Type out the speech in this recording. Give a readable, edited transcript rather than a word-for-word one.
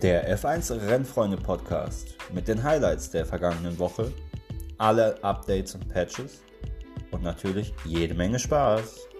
Der F1 Rennfreunde Podcast mit den Highlights der vergangenen Woche, alle Updates und Patches und natürlich jede Menge Spaß.